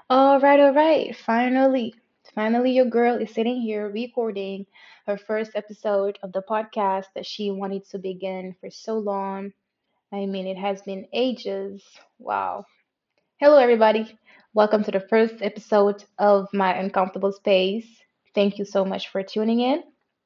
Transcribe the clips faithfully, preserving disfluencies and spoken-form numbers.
All right, all right. Finally, finally, your girl is sitting here recording her first episode of the podcast that she wanted to begin for so long. I mean, it has been ages. Wow. Hello, everybody. Welcome to the first episode of my uncomfortable space. Thank you so much for tuning in.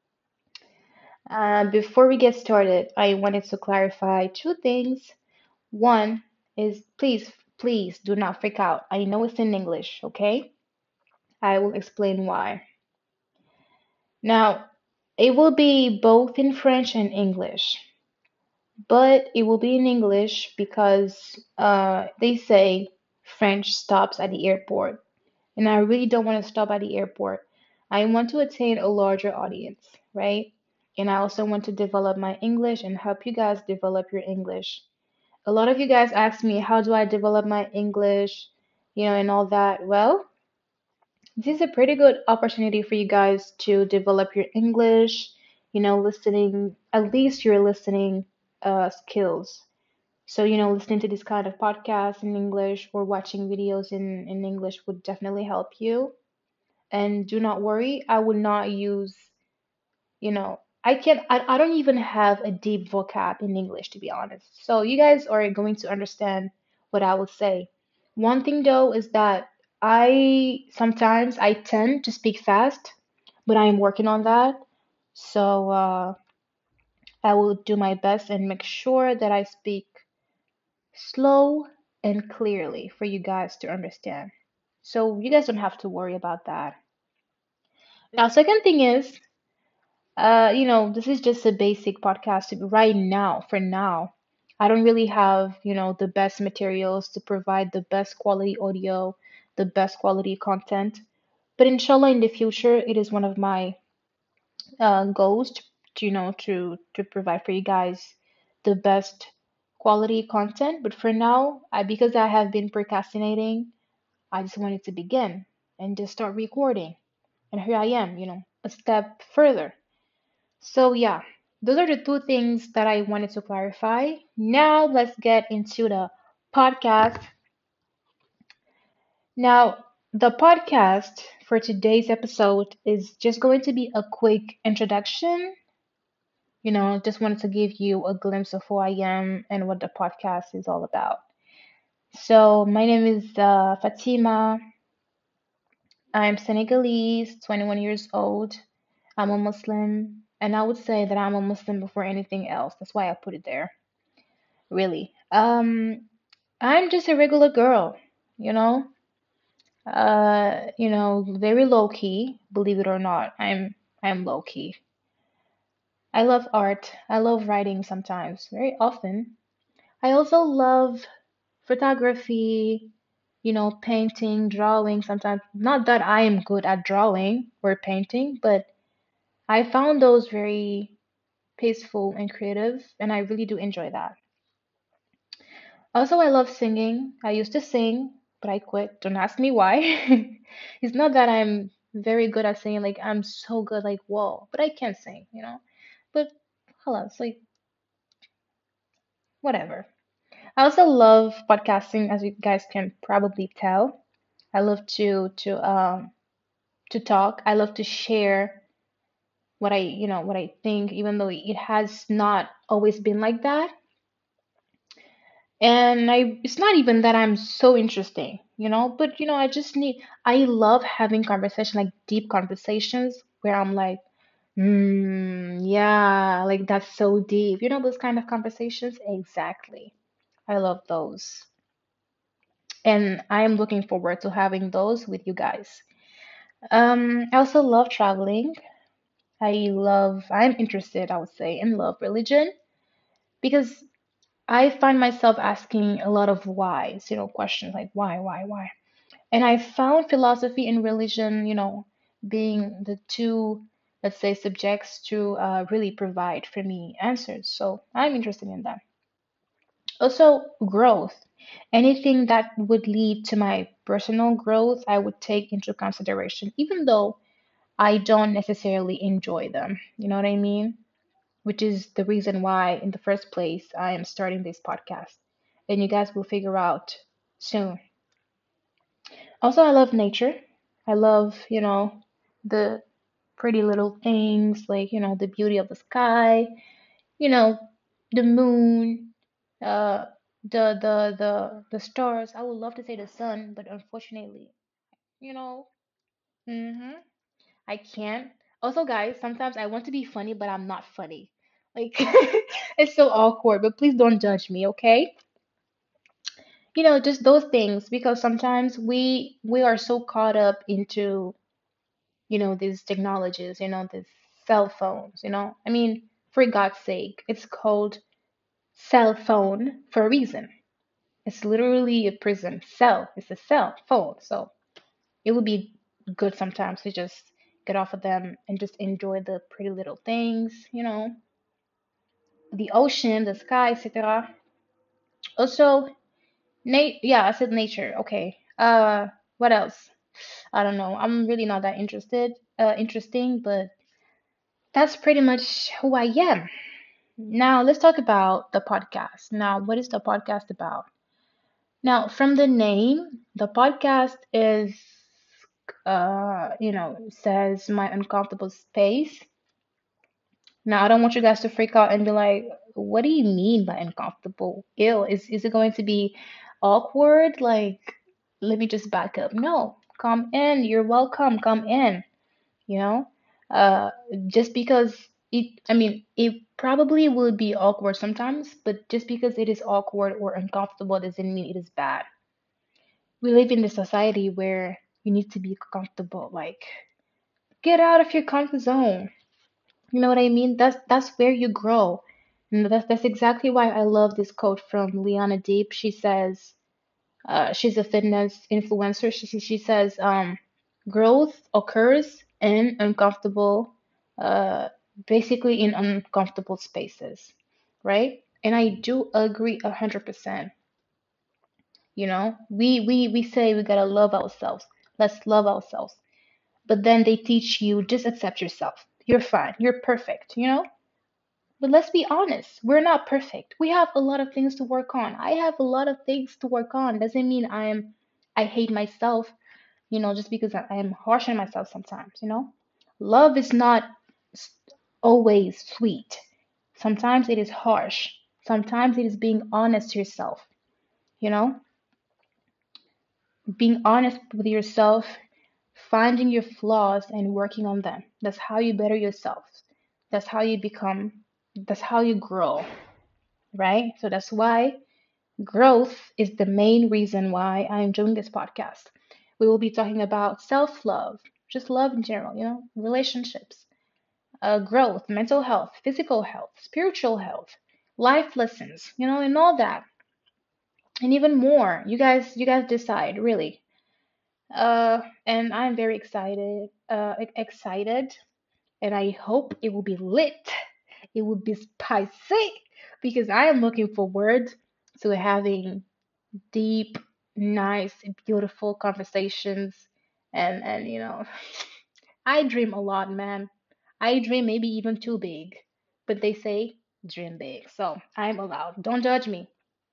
Uh, before we get started, I wanted to clarify two things. One is please, please do not freak out. I know it's in English, okay? I will explain why. Now, it will be both in French and English, but it will be in English because uh, they say French stops at the airport, and I really don't want to stop at the airport. I want to attain a larger audience, right? And I also want to develop my English and help you guys develop your English. A lot of you guys ask me, how do I develop my English, you know, and all that. Well, this is a pretty good opportunity for you guys to develop your English, you know, listening, at least your listening uh, skills. So, you know, listening to this kind of podcast in English or watching videos in, in English would definitely help you. And do not worry, I will not use, you know, I can't, I, I don't even have a deep vocab in English, to be honest. So, you guys are going to understand what I will say. One thing though is that I sometimes I tend to speak fast, but I am working on that. So uh, I will do my best and make sure that I speak slow and clearly for you guys to understand. So you guys don't have to worry about that. Now, second thing is, uh, you know, this is just a basic podcast right now. For now, I don't really have, you know, the best materials to provide the best quality audio, the best quality content. But inshallah, in the future, it is one of my uh, goals to, to, you know, to to provide for you guys the best quality content. But for now, I, because I have been procrastinating, I just wanted to begin and just start recording. And here I am, you know, a step further. So yeah, those are the two things that I wanted to clarify. Now let's get into the podcast. Now, the podcast for today's episode is just going to be a quick introduction. You know, just wanted to give you a glimpse of who I am and what the podcast is all about. So, my name is uh, Fatima. I'm Senegalese, twenty-one years old. I'm a Muslim, and I would say that I'm a Muslim before anything else. That's why I put it there. Really. Um, I'm just a regular girl, you know. Uh, you know, very low key, believe it or not. I'm I'm low key. I love art. I love writing sometimes, very often. I also love photography, you know, painting, drawing sometimes. Not that I am good at drawing or painting, but I found those very peaceful and creative, and I really do enjoy that. Also, I love singing. I used to sing, but I quit. Don't ask me why. It's not that I'm very good at singing, like I'm so good, like whoa, but I can sing, you know. But hello, it's like whatever. I also love podcasting, as you guys can probably tell. I love to to um to talk. I love to share what I, you know, what I think, even though it has not always been like that. And I, it's not even that I'm so interesting, you know, but you know, I just need, I love having conversation, like deep conversations where I'm like, mm, yeah, like that's so deep. You know, those kind of conversations? Exactly. I love those. And I am looking forward to having those with you guys. Um, I also love traveling. I love, I'm interested, I would say, in love religion because I find myself asking a lot of whys, you know, questions like why, why, why. And I found philosophy and religion, you know, being the two, let's say, subjects to uh, really provide for me answers. So I'm interested in that. Also, growth. Anything that would lead to my personal growth, I would take into consideration, even though I don't necessarily enjoy them. You know what I mean? Which is the reason why, in the first place, I am starting this podcast. And you guys will figure out soon. Also, I love nature. I love, you know, the pretty little things like, you know, the beauty of the sky, you know, the moon, uh, the the the the stars. I would love to say the sun, but unfortunately, you know, hmm I can't. Also, guys, sometimes I want to be funny, but I'm not funny. Like, it's so awkward, but please don't judge me, okay? You know, just those things because sometimes we we are so caught up into, you know, these technologies, you know, these cell phones, you know. I mean, for God's sake, it's called cell phone for a reason. It's literally a prison cell. It's a cell phone. So it would be good sometimes to just get off of them and just enjoy the pretty little things, you know, the ocean, the sky, et cetera. Also, Nate, yeah, I said nature. Okay. Uh, what else? I don't know. I'm really not that interested. Uh, interesting, but that's pretty much who I am. Now, let's talk about the podcast. Now, what is the podcast about? Now, from the name, the podcast is, uh, you know, says my uncomfortable space. Now, I don't want you guys to freak out and be like, what do you mean by uncomfortable? Ew, is, is it going to be awkward? Like, let me just back up. No, come in. You're welcome. Come in. You know, uh, just because it, I mean, it probably will be awkward sometimes, but just because it is awkward or uncomfortable doesn't mean it is bad. We live in a society where you need to be comfortable. Like, get out of your comfort zone. You know what I mean? That's that's where you grow. And that's that's exactly why I love this quote from Liana Deep. She says, uh, she's a fitness influencer. She she she says, um, growth occurs in uncomfortable, uh, basically in uncomfortable spaces, right? And I do agree a hundred percent. You know, we we we say we gotta love ourselves. Let's love ourselves. But then they teach you just accept yourself. You're fine. You're perfect. You know. But let's be honest, we're not perfect. We have a lot of things to work on. I have a lot of things to work on. Doesn't mean I'm I hate myself, you know, just because I I am harsh on myself sometimes, you know. Love is not s- always sweet. Sometimes it is harsh. Sometimes it is being honest to yourself, you know, being honest with yourself, finding your flaws and working on them. That's how you better yourself. That's how you become, that's how you grow, right? So that's why growth is the main reason why I'm doing this podcast. We will be talking about self love, just love in general, you know, relationships, uh, growth, mental health, physical health, spiritual health, life lessons, you know, and all that, and even more. You guys, you guys decide, really. Uh, and I'm very excited, uh, e- excited, and I hope it will be lit. It will be spicy because I am looking forward to having deep, nice, beautiful conversations. And and you know, I dream a lot, man. I dream maybe even too big, but they say dream big, so I'm allowed. Don't judge me.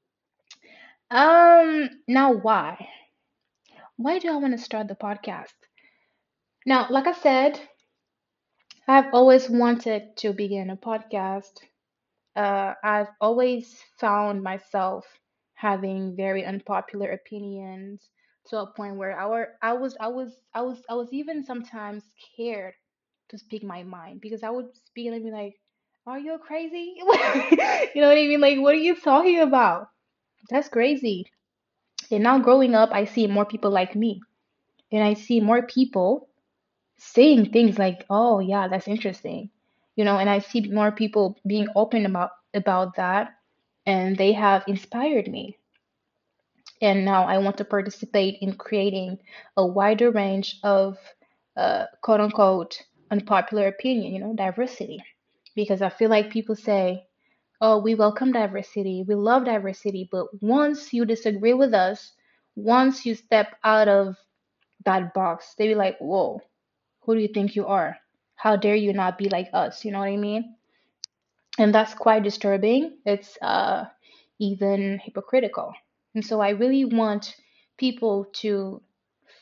Um, now why? Why do I want to start the podcast? Now, like I said, I've always wanted to begin a podcast. Uh, I've always found myself having very unpopular opinions to a point where I were I was I was I was I was even sometimes scared to speak my mind because I would speak and I'd be like, "Are you crazy?" You know what I mean? Like, what are you talking about? That's crazy. And now growing up, I see more people like me, and I see more people saying things like, "Oh yeah, that's interesting," you know, and I see more people being open about about that, and they have inspired me. And now I want to participate in creating a wider range of uh, quote unquote unpopular opinion, you know, diversity, because I feel like people say, "Oh, we welcome diversity, we love diversity," but once you disagree with us, once you step out of that box, they be like, "Whoa, who do you think you are? How dare you not be like us?" You know what I mean? And that's quite disturbing. It's uh, even hypocritical. And so I really want people to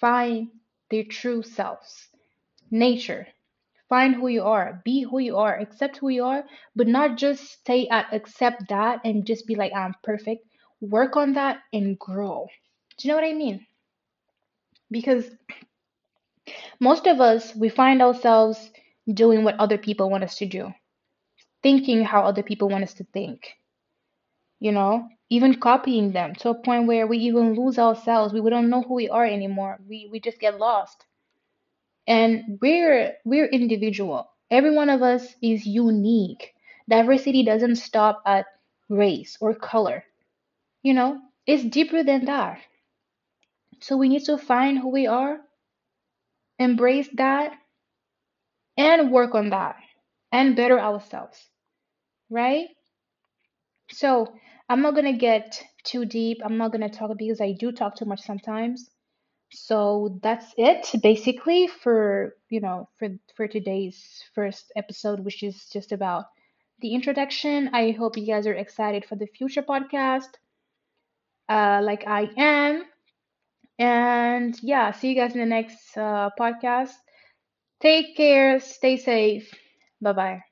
find their true selves. Nature. Find who you are, be who you are, accept who you are, but not just stay at accept that and just be like, I'm perfect. Work on that and grow. Do you know what I mean? Because most of us, we find ourselves doing what other people want us to do, thinking how other people want us to think, you know, even copying them to a point where we even lose ourselves. We, we don't know who we are anymore. We, we just get lost. And we're we're individual. Every one of us is unique. Diversity doesn't stop at race or color. You know, it's deeper than that. So we need to find who we are, embrace that, and work on that and better ourselves, right? So I'm not gonna get too deep. I'm not gonna talk because I do talk too much sometimes. So that's it basically for, you know, for for today's first episode, which is just about the introduction. I hope you guys are excited for the future podcast, uh, like I am. And yeah, see you guys in the next uh, podcast. Take care, stay safe. Bye bye.